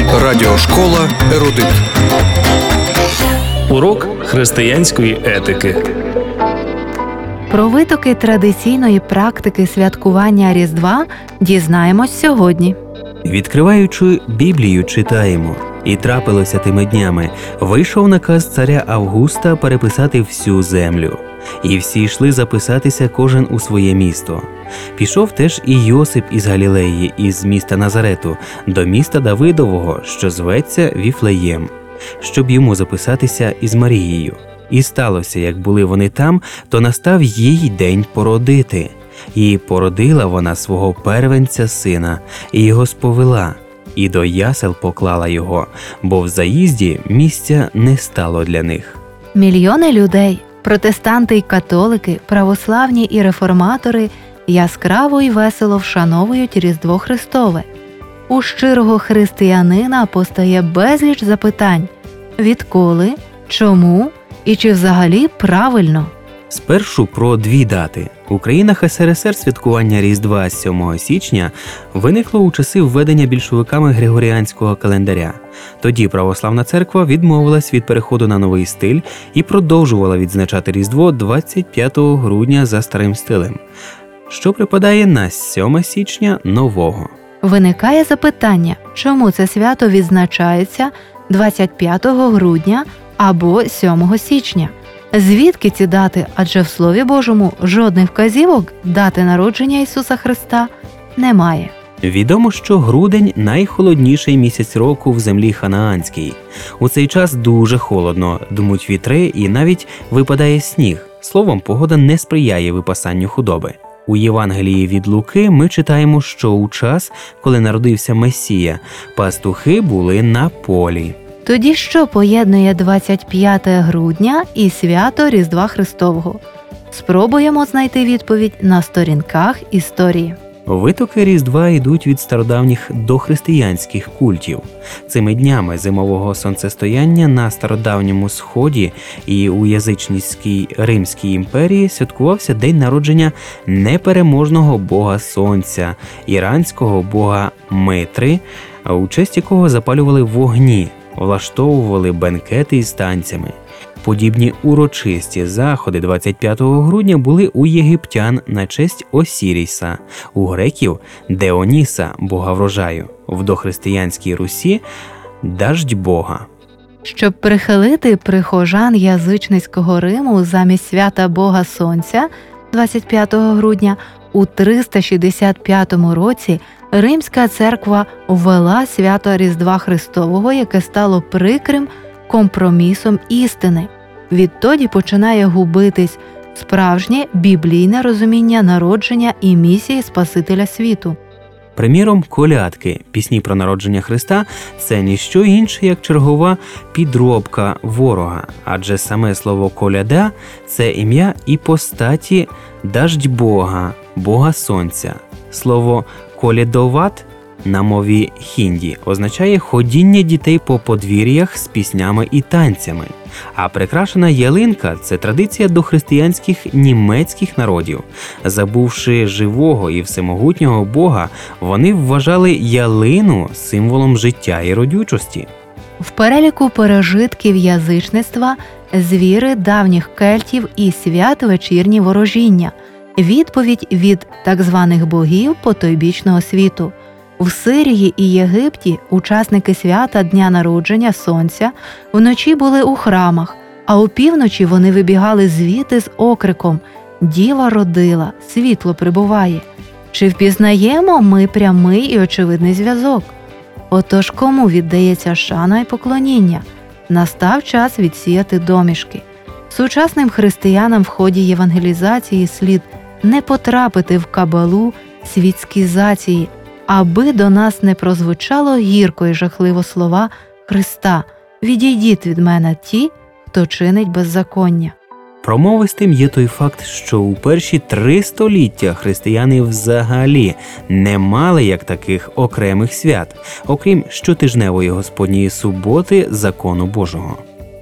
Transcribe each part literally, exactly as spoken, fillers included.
Радіошкола «Ерудит». Урок християнської етики. Про витоки традиційної практики святкування Різдва дізнаємось сьогодні. Відкриваючи Біблію, читаємо: «І трапилося тими днями, вийшов наказ царя Августа переписати всю землю. І всі йшли записатися кожен у своє місто. Пішов теж і Йосип із Галілеї, із міста Назарету, до міста Давидового, що зветься Віфлеєм, щоб йому записатися із Марією. І сталося, як були вони там, то настав їй день породити. І породила вона свого первенця сина, і його сповела, і до ясел поклала його, бо в заїзді місця не стало для них». Мільйони людей, протестанти й католики, православні і реформатори яскраво й весело вшановують Різдво Христове. У щирого християнина постає безліч запитань: відколи, чому і чи взагалі правильно? Спершу про дві дати. У країнах ес ер ес ер святкування Різдва сьомого січня виникло у часи введення більшовиками Григоріанського календаря. Тоді православна церква відмовилась від переходу на новий стиль і продовжувала відзначати Різдво двадцять п'ятого грудня за старим стилем, що припадає на сьоме січня нового. Виникає запитання, чому це свято відзначається двадцять п'ятого грудня або сьомого січня? Звідки ці дати? Адже в Слові Божому жодних вказівок дати народження Ісуса Христа немає. Відомо, що грудень – найхолодніший місяць року в землі ханаанській. У цей час дуже холодно, дмуть вітри і навіть випадає сніг. Словом, погода не сприяє випасанню худоби. У Євангелії від Луки ми читаємо, що у час, коли народився Месія, пастухи були на полі. Тоді що поєднує двадцять п'яте грудня і свято Різдва Христового? Спробуємо знайти відповідь на сторінках історії. Витоки Різдва йдуть від стародавніх дохристиянських культів. Цими днями зимового сонцестояння на стародавньому Сході і у язичницькій Римській імперії святкувався день народження непереможного бога сонця, іранського бога Митри, у честь якого запалювали вогні, влаштовували бенкети із танцями. Подібні урочисті заходи двадцять п'ятого грудня були у єгиптян на честь Осіріса, у греків – Деоніса, бога врожаю, в дохристиянській Русі – даждь бога. Щоб прихилити прихожан язичницького Риму замість свята Бога Сонця двадцять п'ятого грудня, у триста шістдесят п'ятому році Римська церква ввела свято Різдва Христового, яке стало прикрим компромісом істини. Відтоді починає губитись справжнє біблійне розуміння народження і місії Спасителя світу. Приміром, колядки, пісні про народження Христа – це ніщо інше, як чергова підробка ворога, адже саме слово «коляда» – це ім'я і постаті «даждь Бога», Бога Сонця. Слово «колядоват» на мові хінді означає ходіння дітей по подвір'ях з піснями і танцями. А прикрашена ялинка – це традиція дохристиянських німецьких народів. Забувши живого і всемогутнього Бога, вони вважали ялину символом життя і родючості. В переліку пережитків язичництва – звіри давніх кельтів і свят вечірні ворожіння, відповідь від так званих богів потойбічного світу. В Сирії і Єгипті учасники свята Дня народження Сонця вночі були у храмах, а опівночі вони вибігали звідти з окриком «Діва родила, світло прибуває». Чи впізнаємо ми прямий і очевидний зв'язок? Отож, кому віддається шана і поклоніння? Настав час відсіяти домішки. Сучасним християнам в ході євангелізації слід не потрапити в кабалу світськізації, аби до нас не прозвучало гірко і жахливо слова Христа: «Відійдіть від мене ті, хто чинить беззаконня». Промовистим є той факт, що у перші три століття християни взагалі не мали як таких окремих свят, окрім щотижневої Господньої суботи закону Божого.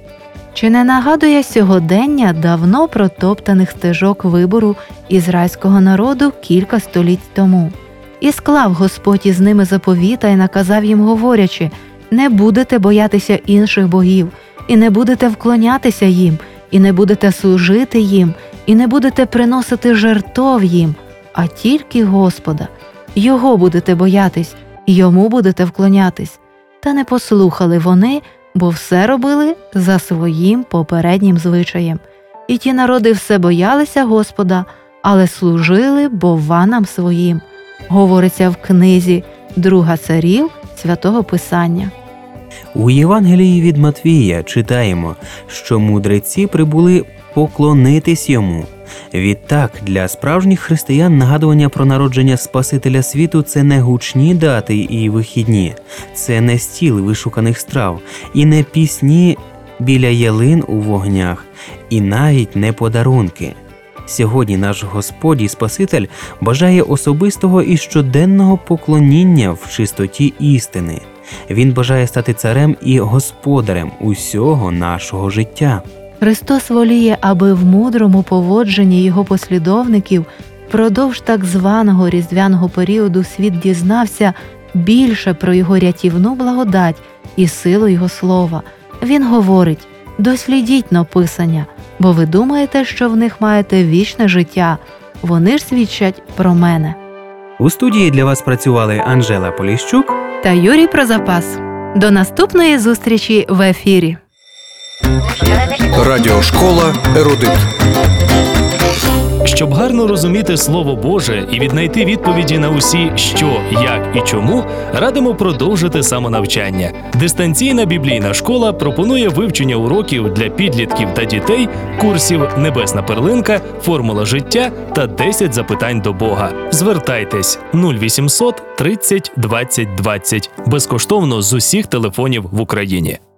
Чи не нагадує сьогодення давно протоптаних стежок вибору ізраїльського народу кілька століть тому? «І склав Господь із ними заповіта, і наказав їм, говорячи: не будете боятися інших богів, і не будете вклонятися їм, і не будете служити їм, і не будете приносити жертов їм, а тільки Господа. Його будете боятись, і йому будете вклонятись. Та не послухали вони, бо все робили за своїм попереднім звичаєм. І ті народи все боялися Господа, але служили бовванам своїм. Говориться в книзі Друга царів Святого Писання. У Євангелії від Матвія читаємо, що мудреці прибули поклонитись йому. Відтак, для справжніх християн нагадування про народження Спасителя світу – це не гучні дати і вихідні, це не стіл вишуканих страв, і не пісні біля ялин у вогнях, і навіть не подарунки. Сьогодні наш Господь і Спаситель бажає особистого і щоденного поклоніння в чистоті істини. Він бажає стати царем і господарем усього нашого життя. Христос воліє, аби в мудрому поводженні його послідовників впродовж так званого різдвяного періоду світ дізнався більше про його рятівну благодать і силу його слова. Він говорить: «Дослідіть написання, бо ви думаєте, що в них маєте вічне життя. Вони ж свідчать про мене». У студії для вас працювали Анжела Поліщук та Юрій Прозапас. До наступної зустрічі в ефірі. Радіошкола «Ерудит». Щоб гарно розуміти Слово Боже і віднайти відповіді на усі «що», «як» і «чому», радимо продовжити самонавчання. Дистанційна біблійна школа пропонує вивчення уроків для підлітків та дітей, курсів «Небесна перлинка», «Формула життя» та десять запитань до Бога. Звертайтесь нуль вісімсот тридцять двадцять двадцять безкоштовно з усіх телефонів в Україні.